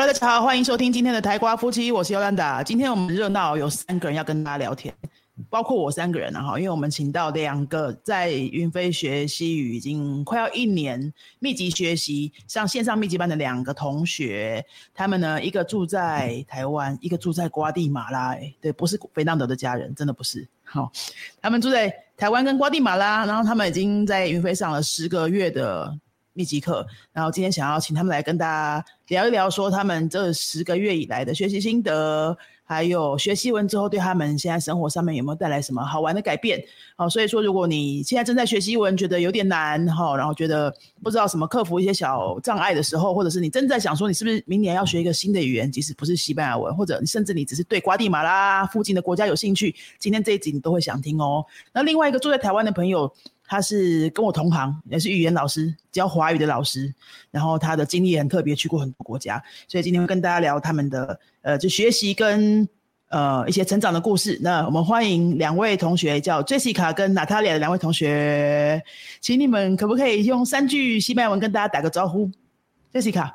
Hello， 大家好，欢迎收听今天的台瓜夫妻，我是尤兰达。今天我们热闹有3个人要跟大家聊天，包括我3个人因为我们请到2个在云飞学西语已经快要1年密集学习上线上密集班的2个同学，他们呢一个住在台湾，一个住在瓜地马拉，对，不是费南德的家人，真的不是。他们住在台湾跟瓜地马拉，然后他们已经在云飞上了10个月的密集课，然后今天想要请他们来跟大家聊一聊，说他们这10个月以来的学习心得，还有学西文之后对他们现在生活上面有没有带来什么好玩的改变。所以说如果你现在正在学西文觉得有点难，然后觉得不知道什么克服一些小障碍的时候，或者是你正在想说你是不是明年要学一个新的语言，即使不是西班牙文，或者甚至你只是对瓜地马拉附近的国家有兴趣，今天这一集你都会想听哦。那另外一个住在台湾的朋友，他是跟我同行，也是语言老师，教华语的老师，然后他的经历很特别，去过很多国家，所以今天会跟大家聊他们的就学习跟一些成长的故事。那我们欢迎2位同学，叫 Jessica 跟 Natalia 的2位同学，请你们可不可以用3句西班牙文跟大家打个招呼？ Jessica。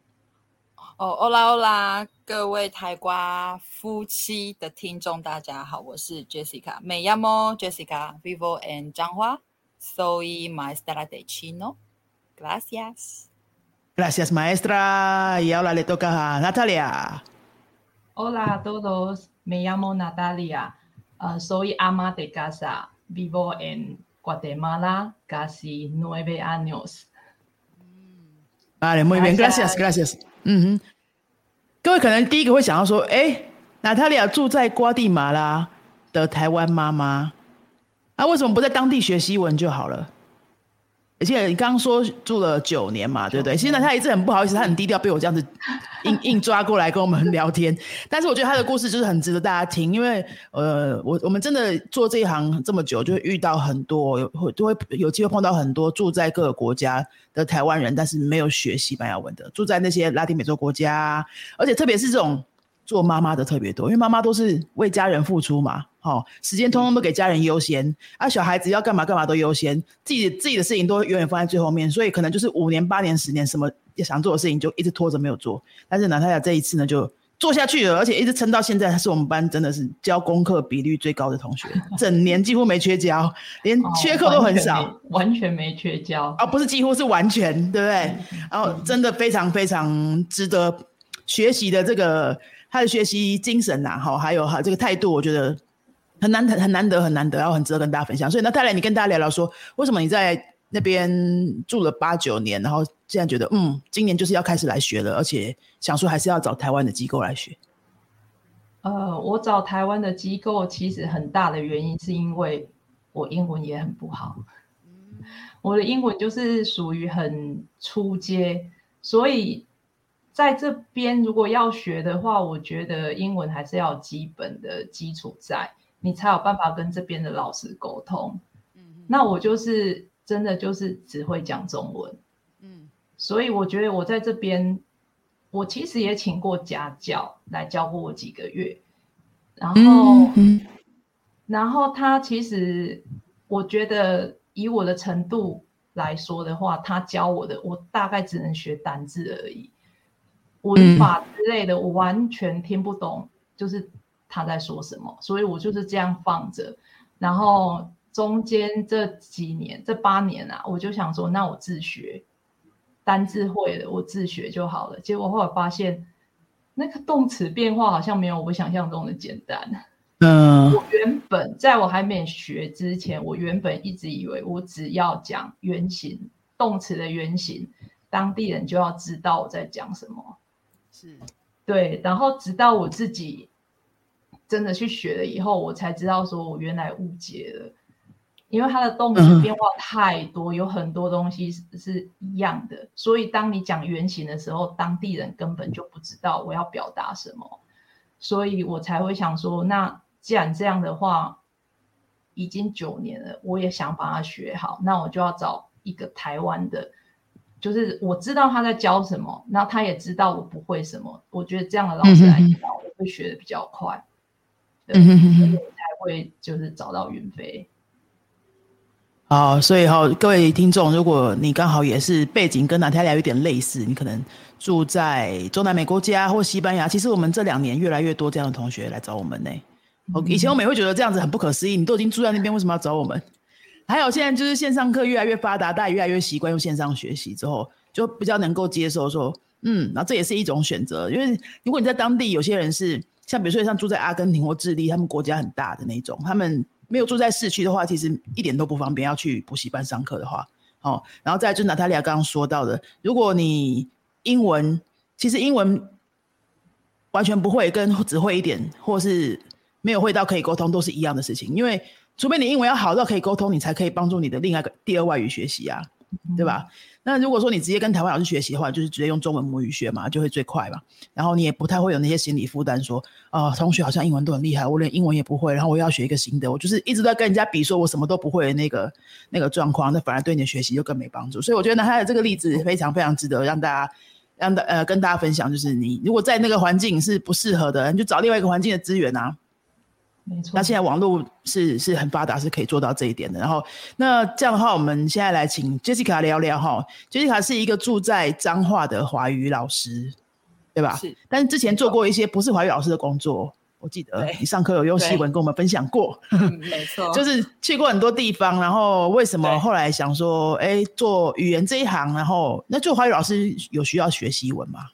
Hola Hola， 各位台瓜夫妻的听众大家好，我是 Jessica， Me llamo Jessica, vivo en Changhua, soy maestra de chino. Gracias. Gracias, maestra. Y ahora le toca a Natalia. Hola a todos, me llamo Natalia, soy ama de casa, vivo en Guatemala casi 9 años. Vale, muy bien, gracias, gracias. 各位可能第一个会想到说Natalia 住在瓜地马拉的台湾妈妈，为什么不在当地学西文就好了？而且你刚刚说住了9年嘛，对不对？其实他一直很不好意思，他很低调，被我这样子硬抓过来跟我们聊天。但是我觉得他的故事就是很值得大家听，因为我们真的做这一行这么久，就会遇到很多，就会有机会碰到很多住在各个国家的台湾人，但是没有学西班牙文的，住在那些拉丁美洲国家，而且特别是这种做妈妈的特别多，因为妈妈都是为家人付出嘛，时间通通都给家人优先，小孩子要干嘛干嘛都优先，自己的事情都永远放在最后面，所以可能就是5年8年10年什么想做的事情就一直拖着没有做。但是呢，他这一次呢就做下去了，而且一直撑到现在，他是我们班真的是交功课比率最高的同学，整年几乎没缺交，连缺课都很少， 完全没缺交， 不是几乎是完全，对不对？然后真的非常非常值得学习的这个他的学习精神还有这个态度，我觉得很难得，然后很值得跟大家分享。所以那泰来，你跟大家聊聊说，为什么你在那边住了8、9年，然后现在觉得今年就是要开始来学了，而且想说还是要找台湾的机构来学。 我找台湾的机构其实很大的原因是因为我英文也很不好，我的英文就是属于很初阶，所以在这边如果要学的话，我觉得英文还是要有基本的基础在，你才有办法跟这边的老师沟通。那我就是真的就是只会讲中文，所以我觉得我在这边，我其实也请过家教来教过我几个月，然后他其实我觉得以我的程度来说的话，他教我的我大概只能学单字而已，文法之类的我完全听不懂，就是他在说什么，所以我就是这样放着。然后中间这几年这8年我就想说那我自学，单字会了我自学就好了，结果后来发现那个动词变化好像没有我想象中的简单。我原本在我还没学之前，我原本一直以为我只要讲原形，动词的原形，当地人就要知道我在讲什么。 是，对。 然后直到我自己真的去学了以后，我才知道说我原来误解了，因为它的动词变化太多，有很多东西是一样的，所以当你讲原形的时候，当地人根本就不知道我要表达什么，所以我才会想说，那既然这样的话，已经9年了，我也想把它学好，那我就要找一个台湾的，就是我知道他在教什么，然后他也知道我不会什么，我觉得这样的老师来教，我会学得比较快，对，所以我才会就是找到云飞。 好，所以各位听众，如果你刚好也是背景跟Natalia有点类似，你可能住在中南美国家或西班牙，其实我们这2年越来越多这样的同学来找我们呢。以前我们也会觉得这样子很不可思议，你都已经住在那边，为什么要找我们？还有现在就是线上课越来越发达，大家越来越习惯用线上学习之后，就比较能够接受说，然后这也是一种选择。因为如果你在当地，有些人是像比如说像住在阿根廷或智利，他们国家很大的那种，他们没有住在市区的话，其实一点都不方便，要去补习班上课的话。然后再来就是Natalia刚刚说到的，如果你其实英文完全不会跟只会一点，或是没有会到可以沟通，都是一样的事情。因为除非你英文要好到可以沟通，你才可以帮助你的另外一个第二外语学习啊，对吧？那如果说你直接跟台湾老师学习的话，就是直接用中文母语学嘛，就会最快嘛。然后你也不太会有那些心理负担说，同学好像英文都很厉害，我连英文也不会，然后我要学一个新的，我就是一直在跟人家比说我什么都不会的那个状况，那反而对你的学习就更没帮助。所以我觉得他的这个例子非常非常值得让大家跟大家分享，就是你如果在那个环境是不适合的，你就找另外一个环境的资源啊。 没错， 那现在网络是很发达，是可以做到这一点的。然后，那这样的话，我们现在来请 Jessica 聊聊哈。Jessica 是一个住在彰化的华语老师，对吧？ 是。 但是之前做过一些不是华语老师的工作，我记得你上课有用西文跟我们分享过。 没错， 就是去过很多地方，然后为什么后来想说，做语言这一行，然后那做华语老师有需要学西文吗？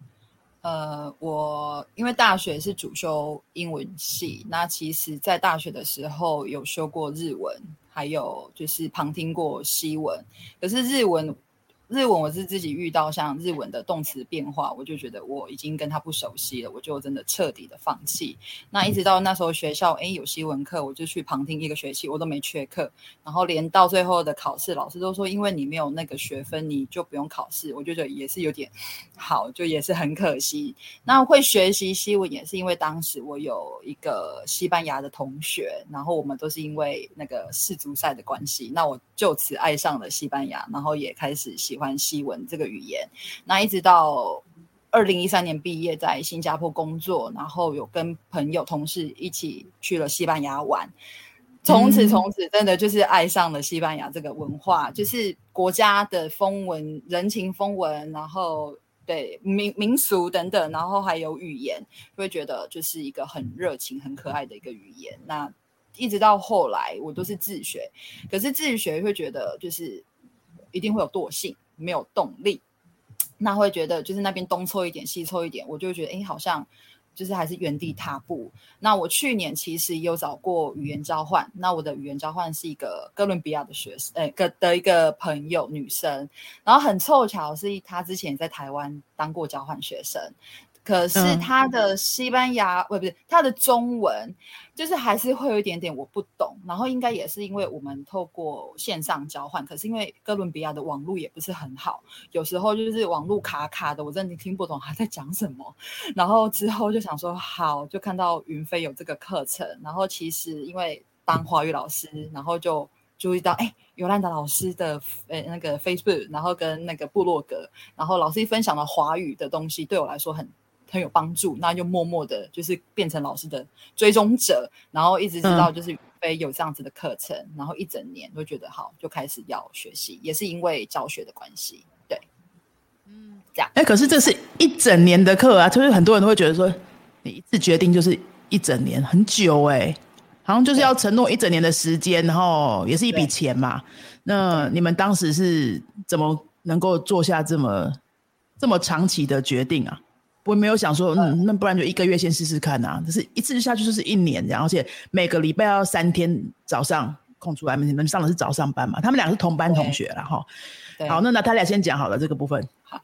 我因为大学是主修英文系，那其实在大学的时候有修过日文，还有就是旁听过西文，可是日文我是自己遇到像日文的动词变化，我就觉得我已经跟他不熟悉了，我就真的彻底的放弃。那一直到那时候学校有西文课，我就去旁听1个学期，我都没缺课，然后连到最后的考试，老师都说因为你没有那个学分你就不用考试，我就觉得也是有点好，就也是很可惜。那会学习西文也是因为当时我有一个西班牙的同学，然后我们都是因为那个世足赛的关系，那我就此爱上了西班牙，然后也开始喜欢西文这个语言。那一直到2013年毕业，在新加坡工作，然后有跟朋友同事一起去了西班牙玩，从此真的就是爱上了西班牙这个文化，就是国家的风文、人情风文，然后对民俗等等，然后还有语言，会觉得就是一个很热情很可爱的一个语言。那一直到后来我都是自学，可是自学会觉得就是一定会有惰性，没有动力，那会觉得就是那边东凑一点西凑一点，我就会觉得好像就是还是原地踏步。那我去年其实也有找过语言交换，那我的语言交换是一个哥伦比亚的学生的一个朋友女生，然后很凑巧是她之前在台湾当过交换学生，可是他的西班牙不是他的中文就是还是会有一点点我不懂，然后应该也是因为我们透过线上交换，可是因为哥伦比亚的网络也不是很好，有时候就是网络卡卡的，我真的听不懂他在讲什么。然后之后就想说好，就看到云飞有这个课程，然后其实因为当华语老师，然后就注意到尤兰达老师的那个 Facebook， 然后跟那个部落格，然后老师分享了华语的东西，对我来说很有帮助，那就默默的就是变成老师的追踪者，然后一直知道就是云飞有这样子的课程，然后一整年都觉得好，就开始要学习，也是因为教学的关系。对，这样。 可是这是一整年的课啊，就是很多人都会觉得说你一次决定就是一整年，很久好像就是要承诺一整年的时间，然后也是一笔钱嘛。那你们当时是怎么能够做下这么长期的决定啊？我没有想说那不然就1个月先试试看啊，就是一次下去就是1年这样，而且每个礼拜要3天早上空出来，你们上的是早上班嘛，他们两个是同班同学啦齁。好，那他俩先讲好了这个部分。 好，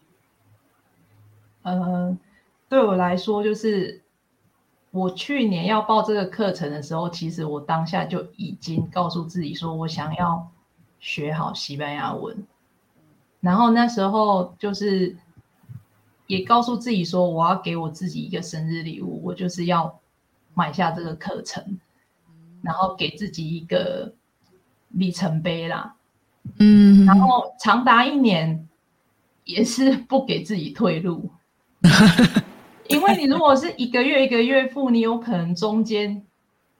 对我来说就是我去年要报这个课程的时候，其实我当下就已经告诉自己说我想要学好西班牙文，然后那时候就是也告诉自己说我要给我自己一个生日礼物，我就是要买下这个课程，然后给自己一个里程碑啦。然后长达1年也是不给自己退路因为你如果是1个月1个月付，你有可能中间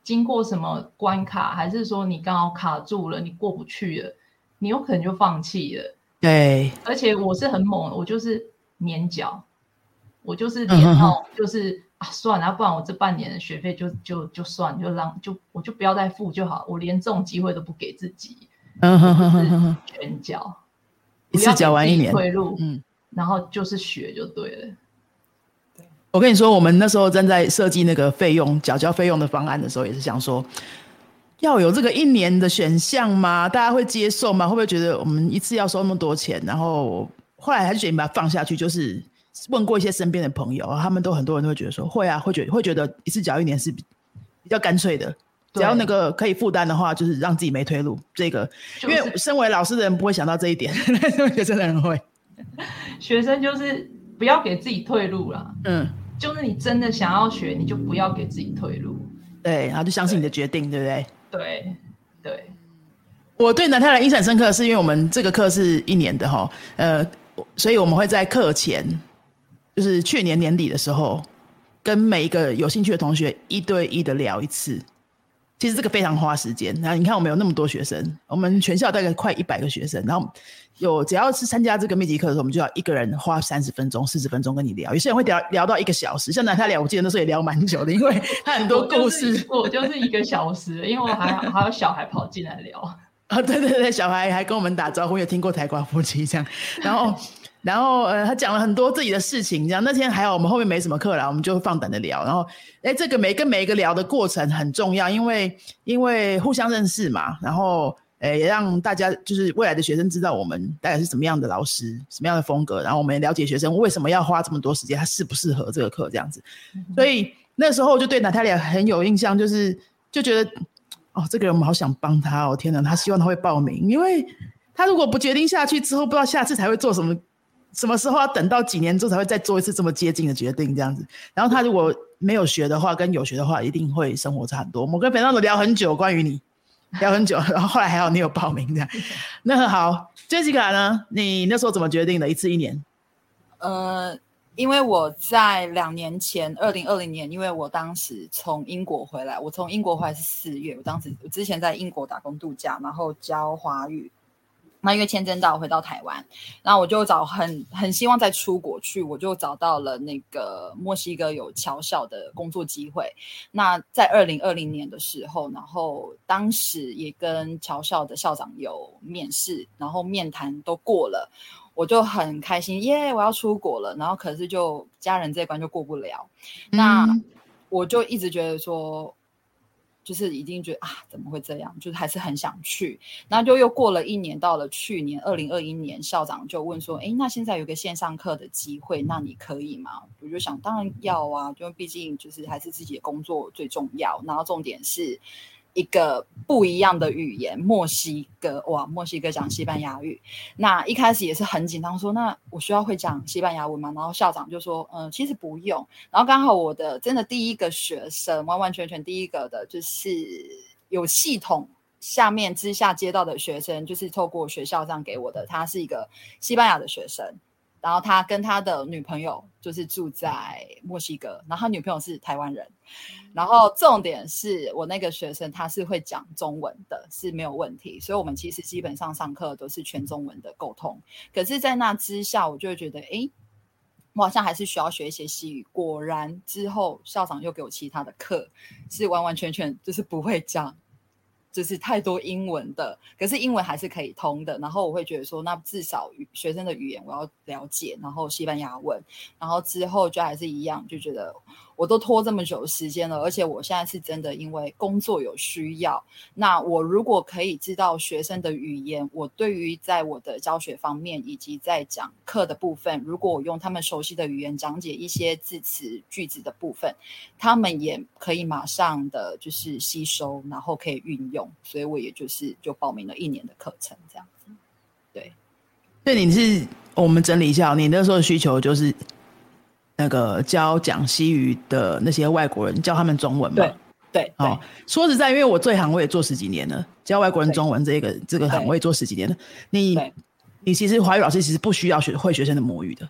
经过什么关卡，还是说你刚好卡住了，你过不去了，你有可能就放弃了。 对， 而且我是很猛的，我就是黏脚，我就是黏到就是算了，不然我这半年的学费就算，我就不要再付就好，我连这种机会都不给自己，就是全缴， 一次缴完1年， 退路，然后就是学就对了。 我跟你说，我们那时候正在设计那个费用缴交费用的方案的时候，也是想说，要有这个1年的选项吗？大家会接受吗？会不会觉得我们一次要收那么多钱？然后后来还是决定把它放下去，就是问过一些身边的朋友，他们都很多人都会觉得说，会啊，会觉得一次缴1年是比较干脆的。只要那个可以负担的话，就是让自己没退路。这个，因为身为老师的人不会想到这一点，学生的人会。 学生就是不要给自己退路啦。就是你真的想要学，你就不要给自己退路。 对，然后就相信你的决定， 对不对？ 对对。 我对南泰兰印象深刻，是因为我们这个课是1年的哈，所以我们会在课前，就是去年年底的时候，跟每一个有兴趣的同学1对1的聊一次。其实这个非常花时间。然后你看我们有那么多学生，我们全校大概快100个学生，然后只要是参加这个密集课的时候，我们就要一个人花30分钟、40分钟跟你聊。有些人会聊到1个小时，像南泰聊，我记得那时候也聊蛮久的，因为他很多故事。 我就是1个小时，因为我还有小孩跑进来聊。 对，小孩还跟我们打招呼，也听过台瓜夫妻这样，然后他讲了很多自己的事情，这样那天还好我们后面没什么课啦，我们就放胆的聊。然后这个每一个聊的过程很重要，因为互相认识嘛，然后也让大家就是未来的学生知道我们大概是什么样的老师，什么样的风格，然后我们也了解学生为什么要花这么多时间，他适不适合这个课这样子。所以那时候就对娜塔莉亚很有印象，就觉得这个人我们好想帮他天哪，他希望他会报名，因为他如果不决定下去之后，不知道下次才会做什么时候要等到几年之后才会再做一次这么接近的决定这样子。然后他如果没有学的话跟有学的话，一定会生活差很多。我跟Fernando聊很久，关于你聊很久，然后后来还好你有报名这样。那好 Jessica 呢，你那时候怎么决定的1次1年？ 因为我在2年前2020年，因为我当时从英国回来，我从英国回来是4月，我之前在英国打工度假，然后教华语。那因为签证到回到台湾，然后我就很希望再出国去，我就找到了那个墨西哥有侨校的工作机会。那在2020年的时候，然后当时也跟侨校的校长有面试，然后面谈都过了，我就很开心，耶，我要出国了。然后可是就家人这一关就过不了，那我就一直觉得说，就是已经觉得怎么会这样，就是还是很想去。然后就又过了1年，到了去年2021年，校长就问说，那现在有个线上课的机会，那你可以吗？我就想当然要啊，就毕竟就是还是自己的工作最重要，然后重点是一个不一样的语言，墨西哥讲西班牙语。那一开始也是很紧张，说那我需要会讲西班牙文吗？然后校长就说其实不用。然后刚好我的真的第一个学生，完完全全第一个的就是有系统下面之下接到的学生，就是透过学校这样给我的，他是一个西班牙的学生，然后他跟他的女朋友就是住在墨西哥，然后他女朋友是台湾人。然后重点是我那个学生他是会讲中文的，是没有问题，所以我们其实基本上上课都是全中文的沟通。可是在那之下我就会觉得我好像还是需要学一些西语。果然之后校长又给我其他的课，是完完全全就是不会讲就是太多英文的，可是英文还是可以通的。然后我会觉得说，那至少学生的语言我要了解，然后西班牙文，然后之后就还是一样，就觉得我都拖这么久的时间了，而且我现在是真的因为工作有需要，那我如果可以知道学生的语言，我对于在我的教学方面以及在讲课的部分，如果我用他们熟悉的语言讲解一些字词句子的部分，他们也可以马上的就是吸收，然后可以运用，所以我也就报名了1年的课程这样子。对， 所以你是我们整理一下，你那时候的需求就是那个讲西语的那些外国人，教他们中文嘛？ 对。 说实在，因为我这行我也做10几年了，教外国人中文这个行我也做10几年了。你其实华语老师其实不需要会学生的母语的。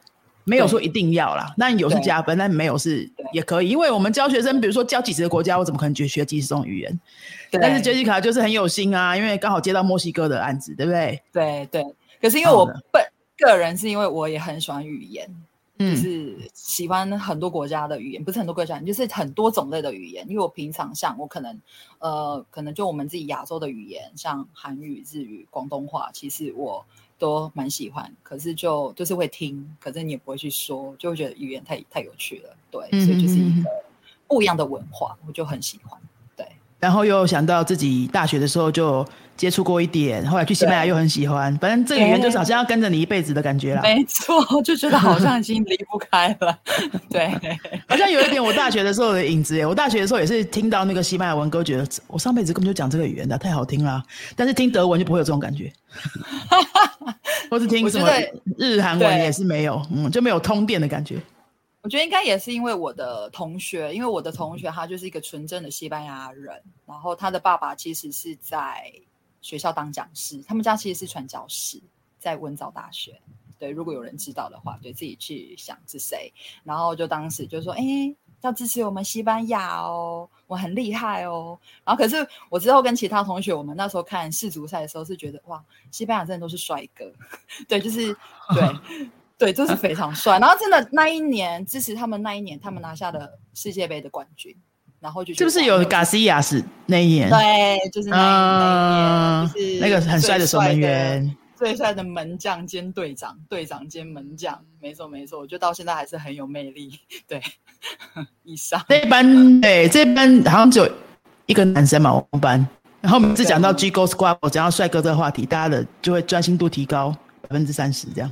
没有说一定要啦，那有是加分，但没有是也可以，因为我们教学生，比如说教几十个国家，我怎么可能学几十种语言？但是 Jessica 就是很有心啊，因为刚好接到墨西哥的案子，对不对？ 对对。可是因为我个人是因为我也很喜欢语言，就是喜欢很多国家的语言，不是很多国家，就是很多种类的语言。因为我平常像我可能就我们自己亚洲的语言，像韩语、日语、广东话，其实我都蛮喜欢，可是就是会听，可是你也不会去说，就会觉得语言太有趣了，对，所以就是一个不一样的文化，我就很喜欢，对。 然后又想到自己大学的时候就接触过一点，后来去西班牙又很喜欢，反正这个语言就是好像要跟着你一辈子的感觉啦。 没错，就觉得好像已经离不开了，对， 好像有一点我大学的时候的影子耶。我大学的时候也是听到那个西班牙文歌，觉得我上辈子根本就讲这个语言的，太好听了。但是听德文就不会有这种感觉，或是听什么日韩文也是没有，就没有通电的感觉。 我觉得应该也是因为我的同学他就是一个纯正的西班牙人，然后他的爸爸其实是在学校当讲师，他们家其实是传教士，在温藻大学。对，如果有人知道的话，对，自己去想是谁。然后就当时就说，要支持我们西班牙哦，我很厉害哦。然后可是我之后跟其他同学，我们那时候看世足赛的时候是觉得，哇，西班牙真的都是帅哥，对，就是对。对，就是非常帅。然后真的那一年支持他们，他们拿下了世界杯的冠军，然后就是不是有卡西亚斯那一年？ 对，就是那一年，就是那个很帅的守门员， 最帅的门将兼队长兼门将，没错，我觉得到现在还是很有魅力。对，以上这班好像只有一个男生嘛，我们班。然后每次讲到 G-Go Squad， 讲到帅哥这个话题，大家的就会专心度提高30%这样。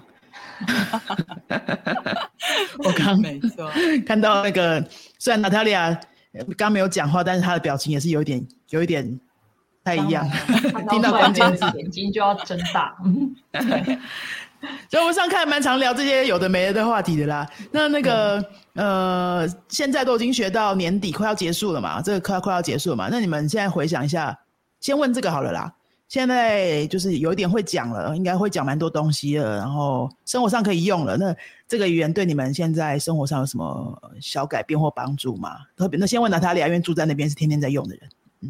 我刚看到那个，虽然娜塔莉亚刚没有讲话，但是她的表情也是有一点太一样。听到关键字， 眼睛就要睁大。 对，所以我们上看蛮常聊这些有的没的话题的啦。那个现在都已经学到年底快要结束了嘛，这个快要结束了嘛。那你们现在回想一下，先问这个好了啦。现在就是有一点会讲了，应该会讲蛮多东西了，然后生活上可以用了。那这个语言对你们现在生活上有什么小改变或帮助吗？那先问娜塔莉亚，因为住在那边是天天在用的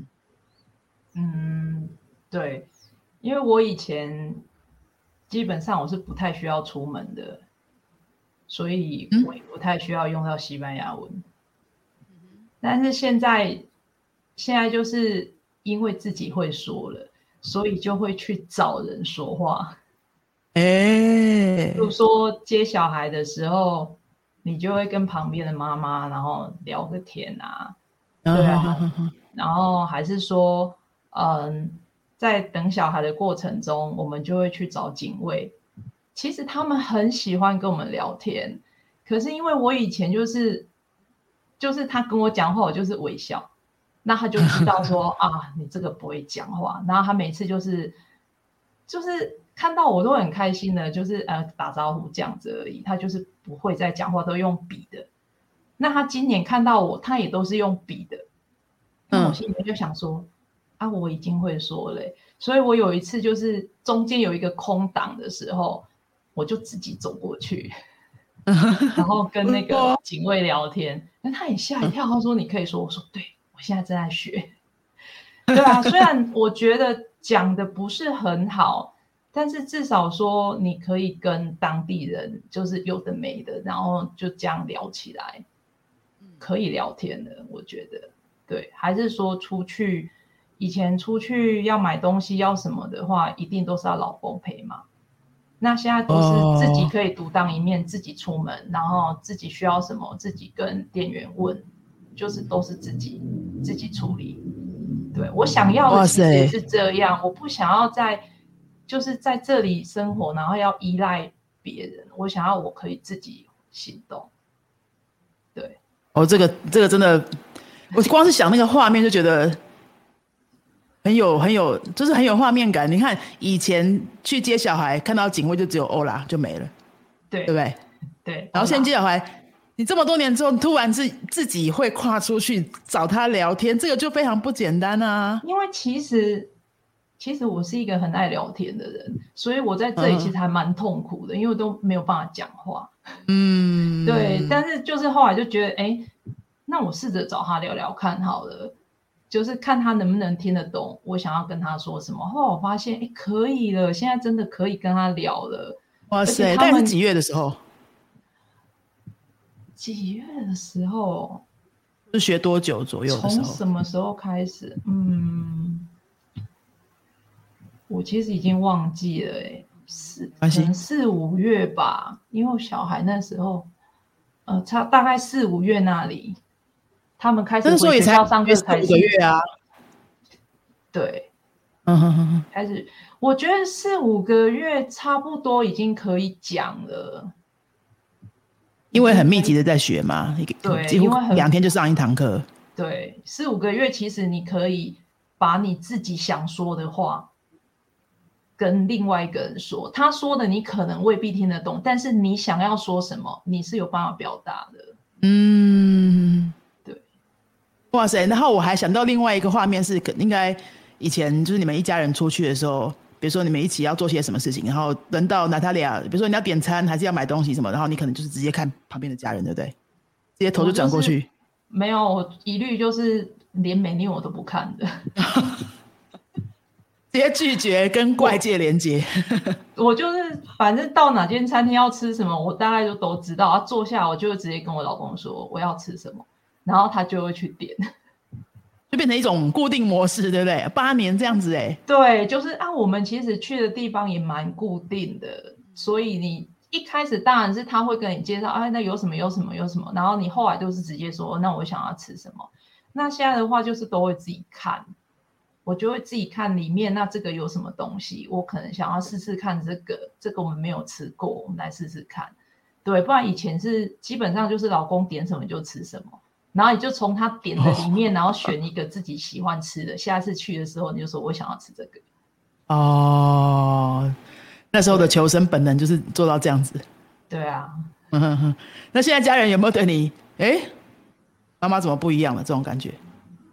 人。对，因为我以前基本上我是不太需要出门的，所以我也不太需要用到西班牙文。但是现在就是因为自己会说了，所以就会去找人说话。比如说接小孩的时候，你就会跟旁边的妈妈然后聊个天啊，对啊，然后还是说在等小孩的过程中，我们就会去找警卫。其实他们很喜欢跟我们聊天，可是因为我以前就是他跟我讲话，我就是微笑，那他就知道说啊，你这个不会讲话。然后他每次就是看到我都很开心的，就是打招呼这样子而已，他就是不会再讲话，都用笔的。那他今年看到我，他也都是用笔的。那我心里面就想说啊，我已经会说了。所以我有一次就是中间有一个空档的时候，我就自己走过去然后跟那个警卫聊天。那他也吓一跳，他说你可以说，我说对，我现在正在学。对啊，虽然我觉得讲的不是很好，但是至少说你可以跟当地人就是有的没的，然后就这样聊起来，可以聊天的。我觉得对，还是说以前出去要买东西要什么的话，一定都是要老公陪嘛。那现在都是自己可以独当一面，自己出门，然后自己需要什么自己跟店员问，就是都是自己处理。对，我想要的其实也是这样，我不想要就是在这里生活，然后要依赖别人。我想要我可以自己行动。对， 这个真的，我光是想那个画面就觉得很有，就是很有画面感。你看以前去接小孩，看到警卫就只有欧拉就没了，对不对？ 对。 然后现在接小孩，你这么多年之后，突然自己会跨出去找他聊天，这个就非常不简单啊。 因为其实我是一个很爱聊天的人，所以我在这里其实还蛮痛苦的，因为我都没有办法讲话。 对，但是就是后来就觉得，那我试着找他聊聊看好了，就是看他能不能听得懂我想要跟他说什么。后来我发现，可以了，现在真的可以跟他聊了。 哇塞，大概是几月的时候？ 几月的时候？ 是学多久左右的时候？ 从什么时候开始？我其实已经忘记了，可能4-5月吧，因为我小孩那时候，大概4-5月那里，他们开始回学校上课才 4-5个月啊。 对，开始，我觉得4-5个月差不多已经可以讲了， 因为很密集的在学嘛， 对， 几乎2天就上一堂课。 对，4-5个月其实你可以把你自己想说的话跟另外一个人说，他说的你可能未必听得懂，但是你想要说什么，你是有办法表达的。对。 哇塞，然后我还想到另外一个画面是，应该以前就是你们一家人出去的时候，比如说你们一起要做些什么事情，然后轮到娜塔莉亚，比如说你要点餐还是要买东西什么，然后你可能就是直接看旁边的家人，对不对？直接头就转过去。 没有，我一律就是连menu我都不看的。 直接拒绝跟外界连接。 我就是反正到哪间餐厅要吃什么，我大概就都知道。坐下我就会直接跟我老公说我要吃什么，然后他就会去点， 就变成一种固定模式，对不对？8年这样子对，就是我们其实去的地方也蛮固定的，所以你一开始当然是他会跟你介绍，那有什么有什么有什么，然后你后来都是直接说那我想要吃什么。那现在的话就是都会自己看。我就会自己看里面，那这个有什么东西，我可能想要试试看这个我们没有吃过，我们来试试看。对，不然以前是基本上就是老公点什么就吃什么，然后你就从他点的里面，然后选一个自己喜欢吃的，下次去的时候你就说我想要吃这个。 那时候的求生本能就是做到这样子。 对啊。 那现在家人有没有对你妈妈怎么不一样了这种感觉？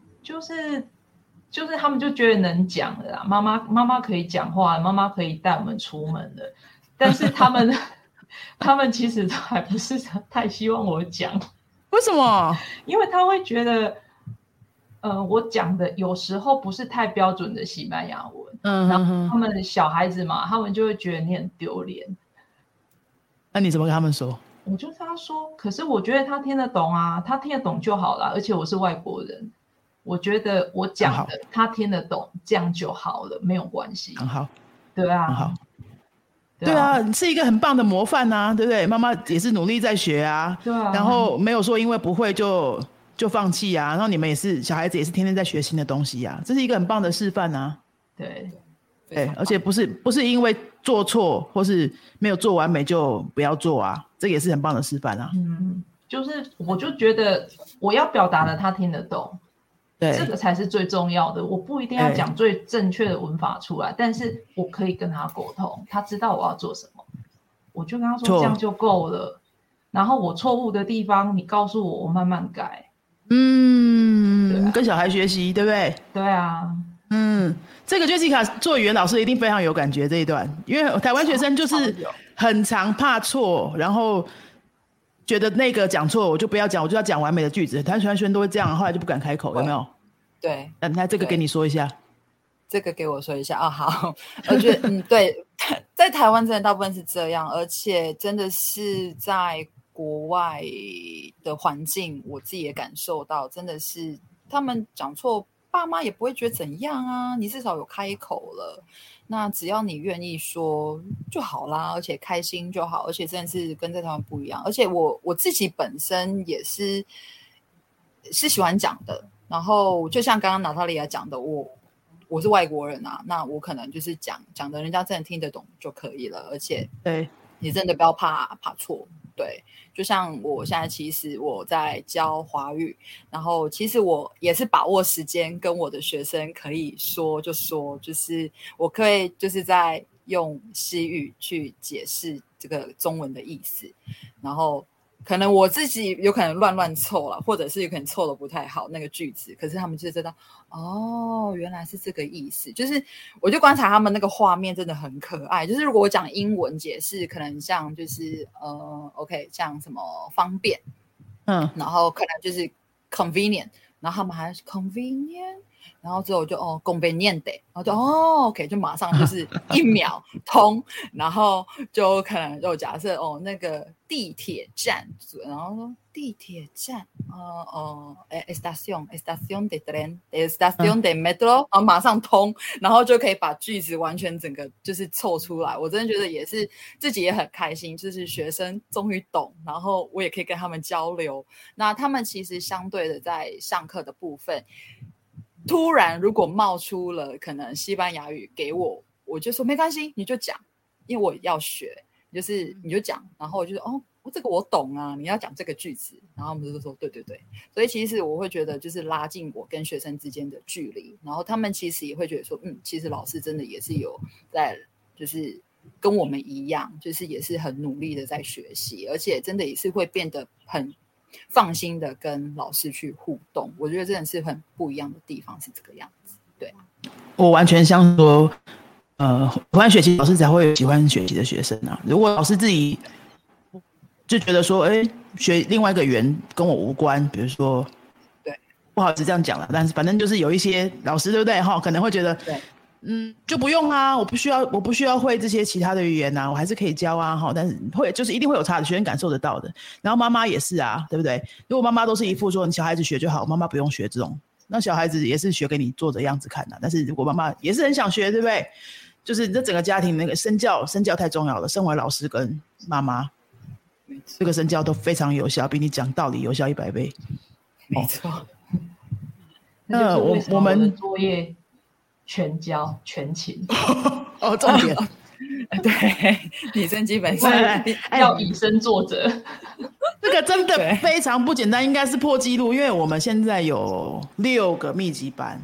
就是他们就觉得能讲了啦，妈妈可以讲话，妈妈可以带我们出门了，但是他们其实还不是太希望我讲。 为什么？ 因为他会觉得我讲的有时候不是太标准的西班牙文，然后他们小孩子嘛，他们就会觉得你很丢脸。 那你怎么跟他们说？ 我就跟他说，可是我觉得他听得懂啊，他听得懂就好了，而且我是外国人，我觉得我讲的他听得懂，这样就好了，没有关系。 很好。 对啊。 很好。对啊，你是一个很棒的模范啊，对不对？妈妈也是努力在学啊。 对啊。 然后没有说因为不会就放弃啊，然后你们也是小孩子，也是天天在学新的东西啊，这是一个很棒的示范啊。 对。 而且不是因为做错或是没有做完美就不要做啊，这个也是很棒的示范啊。 就是我就觉得我要表达的他听得懂，对，这个才是最重要的。我不一定要讲最正确的文法出来，但是我可以跟他沟通，他知道我要做什么，我就跟他说这样就够了。然后我错误的地方你告诉我，我慢慢改。 跟小孩学习，对不对？ 对啊。 这个 Jessica 做语言老师一定非常有感觉这一段，因为台湾学生就是很常怕错，然后觉得那个讲错我就不要讲，我就要讲完美的句子。台湾学生都会这样，后来就不敢开口，有没有？ 对。 那这个给你说一下。 这个给我说一下好。我觉得对，在台湾真的大部分是这样，而且真的是在国外的环境，我自己也感受到，真的是他们讲错，爸妈也不会觉得怎样啊，你至少有开口了，那只要你愿意说就好啦，而且开心就好，而且真的是跟在台湾不一样。而且我自己本身也是喜欢讲的，然后就像刚刚娜塔莉亚讲的，我是外国人啊，那我可能就是讲的人家真的听得懂就可以了，而且对你真的不要怕错。对，就像我现在其实我在教华语，然后其实我也是把握时间跟我的学生可以说就说，就是我可以就是在用西语去解释这个中文的意思，然后可能我自己有可能乱凑了，或者是有可能凑的不太好那个句子，可是他们就知道哦，原来是这个意思。就是我就观察他们那个画面真的很可爱。就是如果我讲英文解释，可能像就是OK， 像什么方便，然后可能就是 convenient， 然后他们还是 convenient。然后之后就convenient， 然后就OK， 就马上就是1秒通，然后就可能就假设那个地铁站，然后说地铁站estación de tren estación de metro， 然后马上通，然后就可以把句子完全整个就是凑出来。我真的觉得也是自己也很开心，就是学生终于懂，然后我也可以跟他们交流。那他们其实相对的在上课的部分。突然如果冒出了可能西班牙语给我，我就说没关系，你就讲，因为我要学，就是你就讲，然后我就说这个我懂啊，你要讲这个句子，然后我们就说对，所以其实我会觉得就是拉近我跟学生之间的距离，然后他们其实也会觉得说其实老师真的也是有在就是跟我们一样，就是也是很努力的在学习，而且真的也是会变得很放心的跟老师去互动。我觉得真的是很不一样的地方是这个样子。对， 我完全相信说喜欢学习老师才会有喜欢学习的学生啊。如果老师自己就觉得说学另外一个语言跟我无关，比如说对， 不好意思这样讲了，但是反正就是有一些老师对不对可能会觉得对就不用啊，我不需要会这些其他的语言啊，我还是可以教啊但是就是一定会有差的，学生感受得到的。然后妈妈也是啊，对不对？如果妈妈都是一副说你小孩子学就好，妈妈不用学这种，那小孩子也是学给你做的样子看啊。但是如果妈妈也是很想学，对不对？就是这整个家庭那个身教太重要了。身为老师跟妈妈，这个身教都非常有效，比你讲道理有效100倍。 没错。 那就是为什么我的作业全教全勤重点对，女生基本上要以身作则。 这个真的非常不简单，应该是破纪录，因为我们现在有6个密集班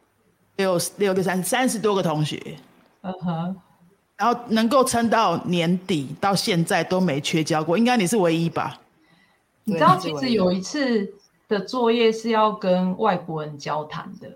，30多个同学，然后能够撑到年底到现在都没缺交过，应该你是唯一吧？ 你知道其实有一次的作业是要跟外国人交谈的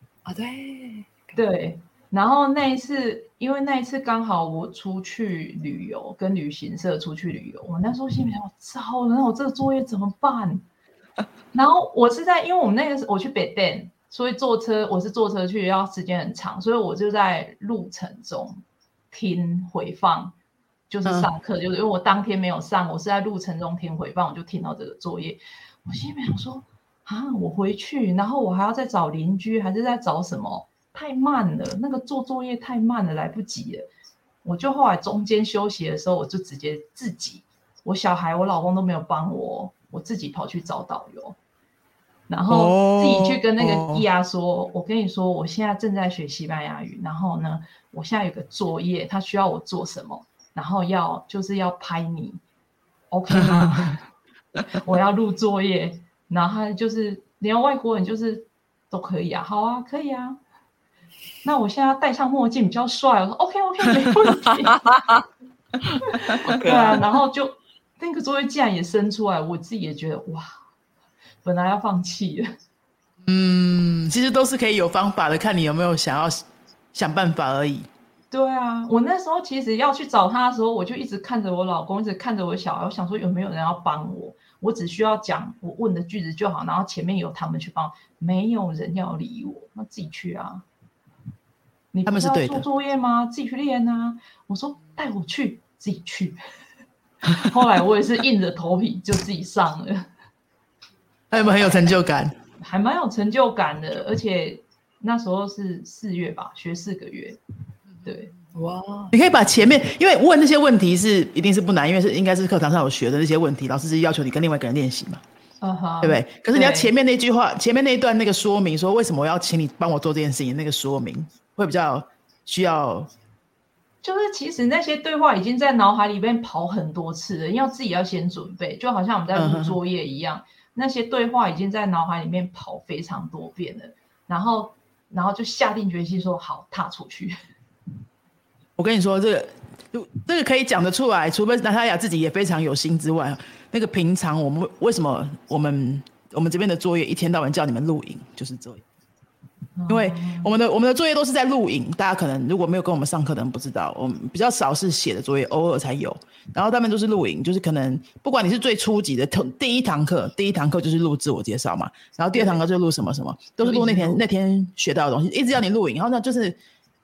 对，然后因为那一次刚好我出去旅游，跟旅行社出去旅游，我那时候心里想糟了，那我这个作业怎么办？然后我是因为我们我去北店，所以我是坐车去，要时间很长，所以我就在路程中听回放，就是上课，就是因为我当天没有上，我是在路程中听回放，我就听到这个作业，我心里想说我回去，然后我还要再找邻居，还是在找什么？太慢了，那个做作业太慢了，来不及了。我就后来中间休息的时候，我就直接自己，我小孩、我老公都没有帮我，我自己跑去找导游，然后自己去跟那个伊亚说，我跟你说，我现在正在学西班牙语，然后呢，我现在有个作业，他需要我做什么，然后就是要拍你 ，OK 吗？我要录作业，然后他就是连外国人就是都可以啊，好啊，可以啊。那我现在要戴上墨镜比较帅，我说 OK 没问题。对啊，然后就那个作业竟然也生出来，我自己也觉得哇，本来要放弃了。 其实都是可以有方法的，看你有没有想办法而已。 对啊，我那时候其实要去找他的时候，我就一直看着我老公，一直看着我小孩，我想说有没有人要帮我，我只需要讲我问的句子就好，然后前面有他们去帮，没有人要理我，那自己去啊。你不是要做作业吗？自己去练啊！我说带我去，自己去。后来我也是硬着头皮就自己上了。 还有没有很有成就感？ 还蛮有成就感的，而且那时候是4月吧，学4个月。对， 哇！ 你可以把前面，因为问那些问题一定是不难，因为应该是课堂上有学的那些问题，老师是要求你跟另外一个人练习嘛。对不对？可是你要前面那句话，前面那一段那个说明，说为什么我要请你帮我做这件事情，那个说明会比较需要。 就是其实那些对话已经在脑海里面跑很多次了，要自己要先准备，就好像我们在录作业一样，那些对话已经在脑海里面跑非常多遍了，然后就下定决心说好，踏出去。 我跟你说，这个这个可以讲得出来，除非娜塔雅自己也非常有心之外，那个平常我们为什么我们这边的作业一天到晚叫你们录影，就是这样。因为我们的作业都是在录影，大家可能如果没有跟我们上课的人不知道，我们比较少是写的作业，偶尔才有。然后他们都是录影，就是可能不管你是最初级的第一堂课就是录自我介绍嘛，然后第二堂课就录什么什么，都是录那天学到的东西，一直要你录影。然后呢，就是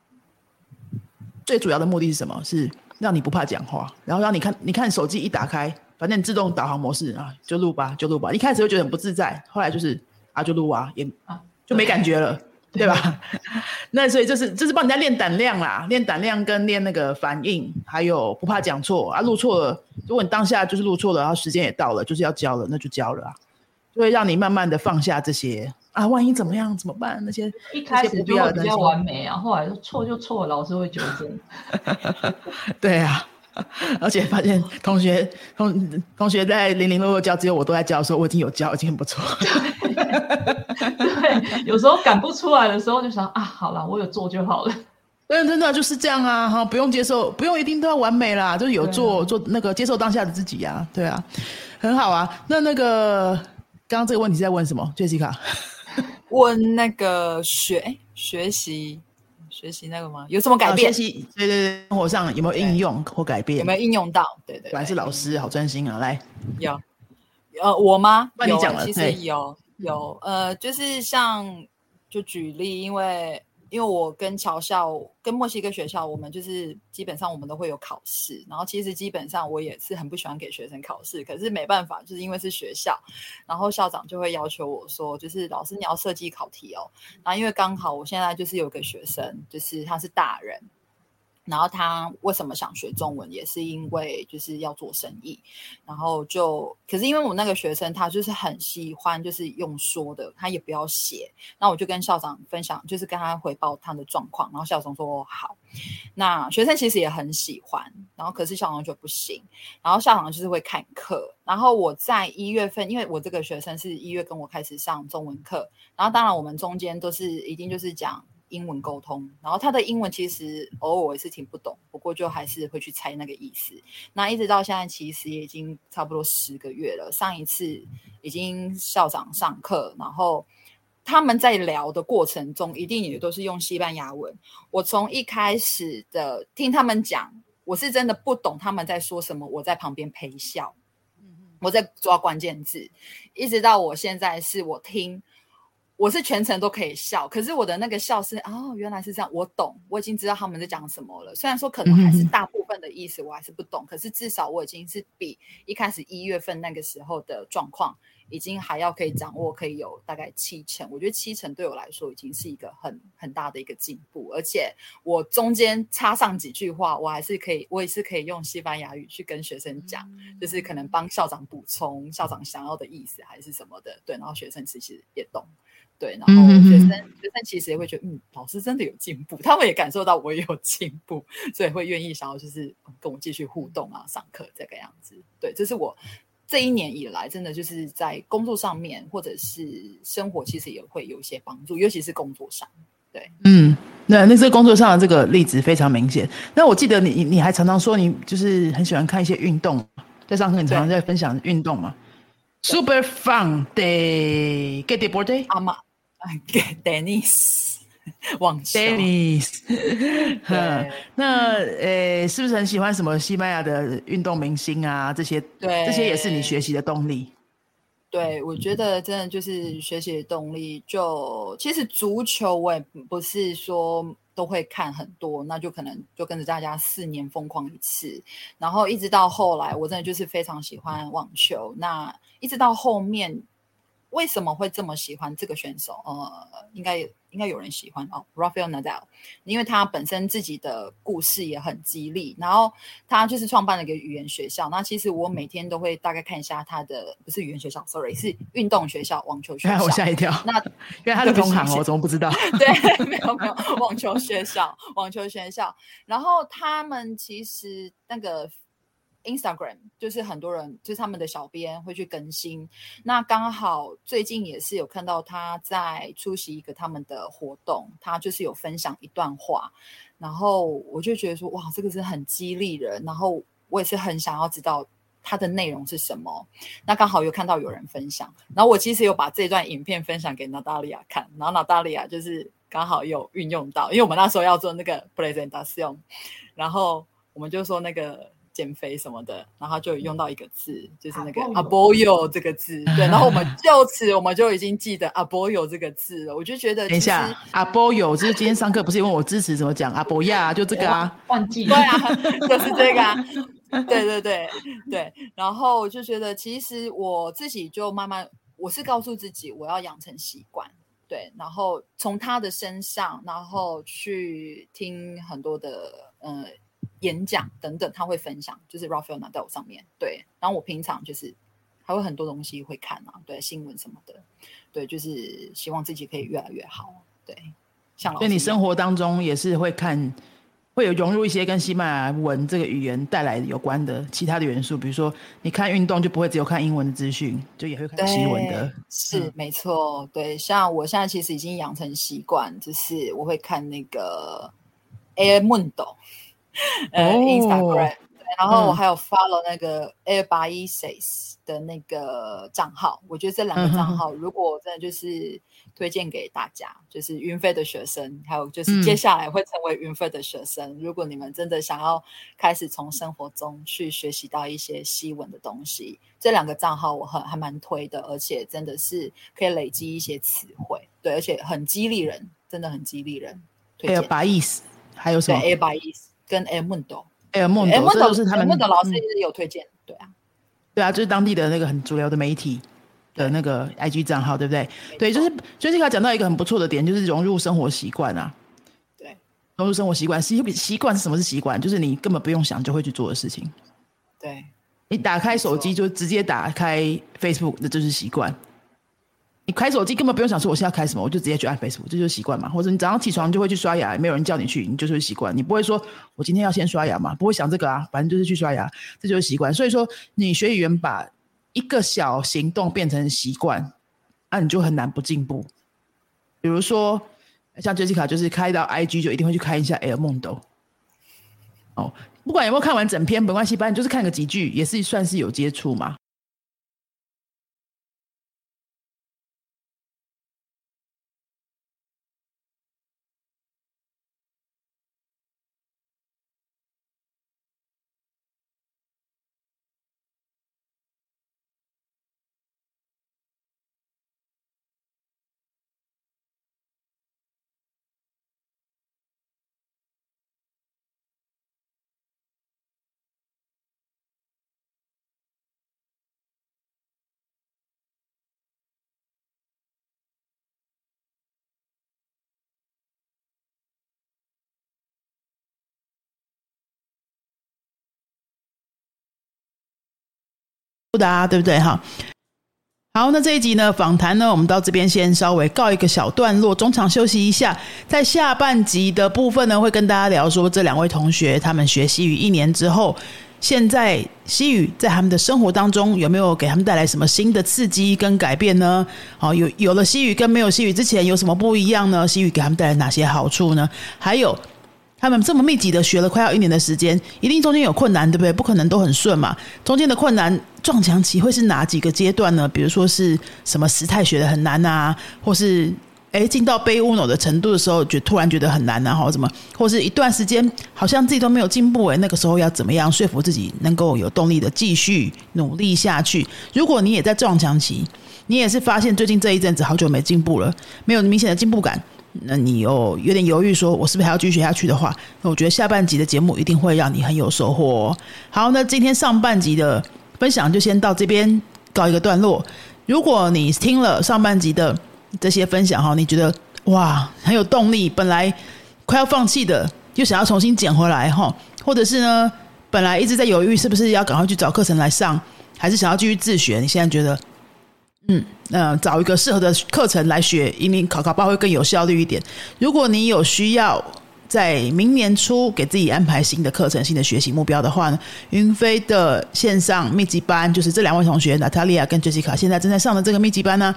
最主要的目的是什么？是让你不怕讲话，然后让你看手机一打开，反正自动导航模式啊，就录吧。一开始会觉得很不自在，后来就是就录啊，也就没感觉了。对吧？那所以就是帮人家练胆量啦，练胆量跟练那个反应，还有不怕讲错啊。录错了，如果你当下就是录错了，然后时间也到了，就是要交了，那就交了啊。就会让你慢慢的放下这些啊，万一怎么样怎么办？那些一开始就会比较完美啊，后来错就错了，老师会纠正。 对啊。而且发现同学在零零落落教，只有我都在教的时候，我已经有教，已经很不错。 对，有时候赶不出来的时候，就想啊，好了，我有做就好了。 对，真的就是这样啊，不用接受，不用一定都要完美啦，就是有做那个接受当下的自己啊，对啊，很好啊。那个刚刚这个问题是在问什么 ，Jessica？ 问那个学习那个吗？有什么改变？ 学习对，生活上有没有应用或改变？ 有没有应用到？对， 果然是老师，好专心啊！来， 有我吗？ 那你讲了， 其实有就是像就举例，因为我跟侨校跟墨西哥学校，我们就是基本上我们都会有考试，然后其实基本上我也是很不喜欢给学生考试，可是没办法，就是因为是学校，然后校长就会要求我说，就是老师你要设计考题哦，然后因为刚好我现在就是有个学生，就是他是大人。然后他为什么想学中文，也是因为就是要做生意，然后可是因为我那个学生他就是很喜欢就是用说的，他也不要写，那我就跟校长分享，就是跟他汇报他的状况，然后校长说好，那学生其实也很喜欢，然后可是校长就不行，然后校长就是会看课，然后我在1月份，因为我这个学生是1月跟我开始上中文课，然后当然我们中间都是一定就是讲英文沟通，然后他的英文其实偶尔我也是听不懂，不过就还是会去猜那个意思。那一直到现在其实也已经差不多10个月了，上一次已经校长上课，然后他们在聊的过程中一定也都是用西班牙文，我从一开始的听他们讲，我是真的不懂他们在说什么，我在旁边陪笑，我在抓关键字，一直到我现在是我听，我是全程都可以笑，可是我的那个笑是原来是这样，我懂，我已经知道他们在讲什么了。虽然说可能还是大部分的意思我还是不懂，可是至少我已经是比一开始1月份那个时候的状况已经还要可以掌握，可以有大概70%。我觉得70%对我来说已经是一个很大的一个进步，而且我中间插上几句话，我也是可以用西班牙语去跟学生讲，就是可能帮校长补充校长想要的意思还是什么的，对，然后学生其实也懂。对，然后学生其实也会觉得，老师真的有进步，他们也感受到我也有进步，所以会愿意想要就是跟我继续互动啊，上课这个样子。对，这是我这1年以来真的就是在工作上面或者是生活，其实也会有一些帮助，尤其是工作上。对， 那这工作上的这个例子非常明显。那我记得你还常常说你就是很喜欢看一些运动，在上课你常常在分享运动嘛。Super fun de ¿qué deporte? Tennis 网球 Tennis 那是不是很喜欢什么西班牙的运动明星啊？这些也是你学习的动力。 对，我觉得真的就是学习的动力。其实足球我也不是说都会看很多，那就可能就跟着大家4年疯狂一次，然后一直到后来，我真的就是非常喜欢网球。那一直到后面，为什么会这么喜欢这个选手？应该有人喜欢Rafael Nadal， 因为他本身自己的故事也很激励，然后他就是创办了一个语言学校。那其实我每天都会大概看一下他的，不是语言学校 ，sorry， 是运动学校、网球学校。 我吓一跳， 那因为他是同行我怎么不知道？ 对，没有网球学校，然后他们其实那个。Instagram 就是很多人就是他们的小编会去更新，那刚好最近也是有看到他在出席一个他们的活动，他就是有分享一段话， 然后我就觉得说哇，这个是很激励人，然后我也是很想要知道它的内容是什么。那刚好有看到有人分享，然后我其实有把这段影片分享给娜大利亚看，然后娜大利亚就是刚好有运用到，因为我们那时候要做那个 presentation， 然后我们就说那个减肥什么的，然后就有用到一个字，就是那个 aboyo 这个字，对，然后我们就此我们就已经记得 aboyo 这个字了。我就觉得等一下 aboyo 就是今天上课不是问我支持怎么讲 aboya 就这个啊， 忘记对啊，就是这个啊，对对对对。然后我就觉得其实我自己就慢慢，我是告诉自己我要养成习惯，对，然后从他的身上，然后去听很多的演讲等等，他会分享，就是 Rafael Nadal 上面，对，然后我平常就是还会很多东西会看啊，对，新闻什么的，对，就是希望自己可以越来越好，对，像老师一样。 所以你生活当中也是会看，会有融入一些跟西班牙文这个语言带来有关的其他的元素，比如说你看运动就不会只有看英文的资讯，就也会看西文的。 是没错，对，像我现在其实已经养成习惯，就是我会看那个 El Mundo。Instagram，然后我还有 follow 那个 El País 的那个账号，我觉得这两个账号如果真的就是推荐给大家，就是云飞的学生，还有就是接下来会成为云飞的学生，如果你们真的想要开始从生活中去学习到一些西文的东西，这两个账号我还蛮推的，而且真的是可以累积一些词汇，对，而且很激励人，真的很激励人。 El País 还有什么？ 对 El País 跟 El Mundo。El Mundo 这都是他们 El Mundo 老师有推荐，对啊， 对啊，就是当地的那个很主流的媒体的那个 IG 账号，对不对？对，就是 Jessica 讲到一个很不错的点，就是融入生活习惯啊。 对， 融入生活习惯，习惯是什么？是习惯，就是你根本不用想就会去做的事情。 对， 你打开手机就直接打开 Facebook， 那就是习惯。你开手机根本不用想说我现在要开什么，我就直接去按 Facebook， 这就是习惯嘛。或者你早上起床就会去刷牙，没有人叫你去，你就是习惯。你不会说我今天要先刷牙嘛，不会想这个啊，反正就是去刷牙，这就是习惯。所以说你学语言把一个小行动变成习惯，你就很难不进步。比如说像 Jessica 就是开到 IG 就一定会去看一下 El Mundo。哦，不管有没有看完整篇没关系，反正就是看个几句也是算是有接触嘛。对不对哈？好，那这一集呢访谈呢我们到这边先稍微告一个小段落，中场休息一下，在下半集的部分呢会跟大家聊说这两位同学他们学西语1年之后，现在西语在他们的生活当中有没有给他们带来什么新的刺激跟改变呢？有了西语跟没有西语之前有什么不一样呢？西语给他们带来哪些好处呢？还有他们这么密集的学了快要1年的时间，一定中间有困难，对不对？不可能都很顺嘛。中间的困难撞墙期会是哪几个阶段呢？比如说是什么时态学得很难啊，或是进到杯乌诺的程度的时候突然觉得很难啊，或是一段时间好像自己都没有进步，那个时候要怎么样说服自己能够有动力的继续努力下去？如果你也在撞墙期，你也是发现最近这一阵子好久没进步了，没有明显的进步感，那你有点犹豫说我是不是还要继续学下去的话，那我觉得下半集的节目一定会让你很有收获哦。好，那今天上半集的分享就先到这边告一个段落。如果你听了上半集的这些分享，你觉得哇很有动力，本来快要放弃的又想要重新捡回来，或者是呢本来一直在犹豫是不是要赶快去找课程来上，还是想要继续自学，你现在觉得找一个适合的课程来学，因为考吧会更有效率一点。如果你有需要在明年初给自己安排新的课程、新的学习目标的话呢，云飞的线上密集班，就是这两位同学 Natalia 跟 Jessica 现在正在上的这个密集班呢，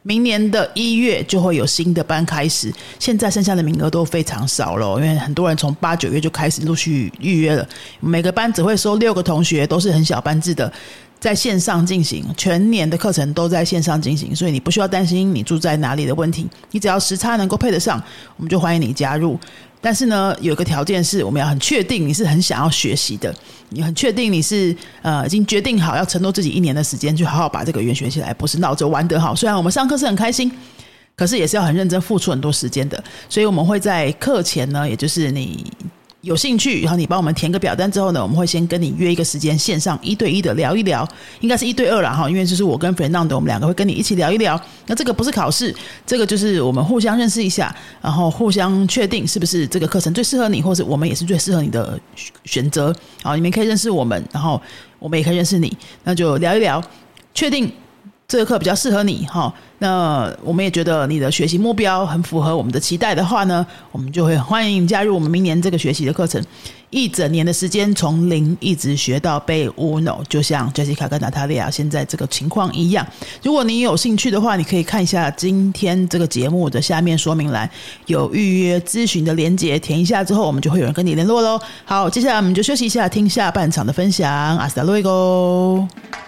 明年的1月就会有新的班开始，现在剩下的名额都非常少了，因为很多人从8、9月就开始陆续预约了，每个班只会收6个同学，都是很小班制的，在线上进行，全年的课程都在线上进行，所以你不需要担心你住在哪里的问题，你只要时差能够配得上，我们就欢迎你加入。但是呢，有一个条件是我们要很确定你是很想要学习的，你很确定你是已经决定好要承诺自己1年的时间去好好把这个语言学起来，不是闹着玩得好。虽然我们上课是很开心，可是也是要很认真付出很多时间的，所以我们会在课前呢，也就是你有兴趣，然后你帮我们填个表单之后呢，我们会先跟你约一个时间，线上1对1的聊一聊，应该是1对2啦，因为就是我跟 Fernando 我们2个会跟你一起聊一聊。那这个不是考试，这个就是我们互相认识一下，然后互相确定是不是这个课程最适合你，或者我们也是最适合你的选择。好，你们可以认识我们，然后我们也可以认识你，那就聊一聊，确定这个课比较适合你，那我们也觉得你的学习目标很符合我们的期待的话呢，我们就会欢迎加入我们明年这个学习的课程，1整年的时间从0一直学到背 Uno， 就像 Jessica 跟 Natalia 现在这个情况一样。如果你有兴趣的话，你可以看一下今天这个节目的下面说明栏有预约咨询的连结，填一下之后我们就会有人跟你联络咯。好，接下来我们就休息一下，听下半场的分享。Hasta luego。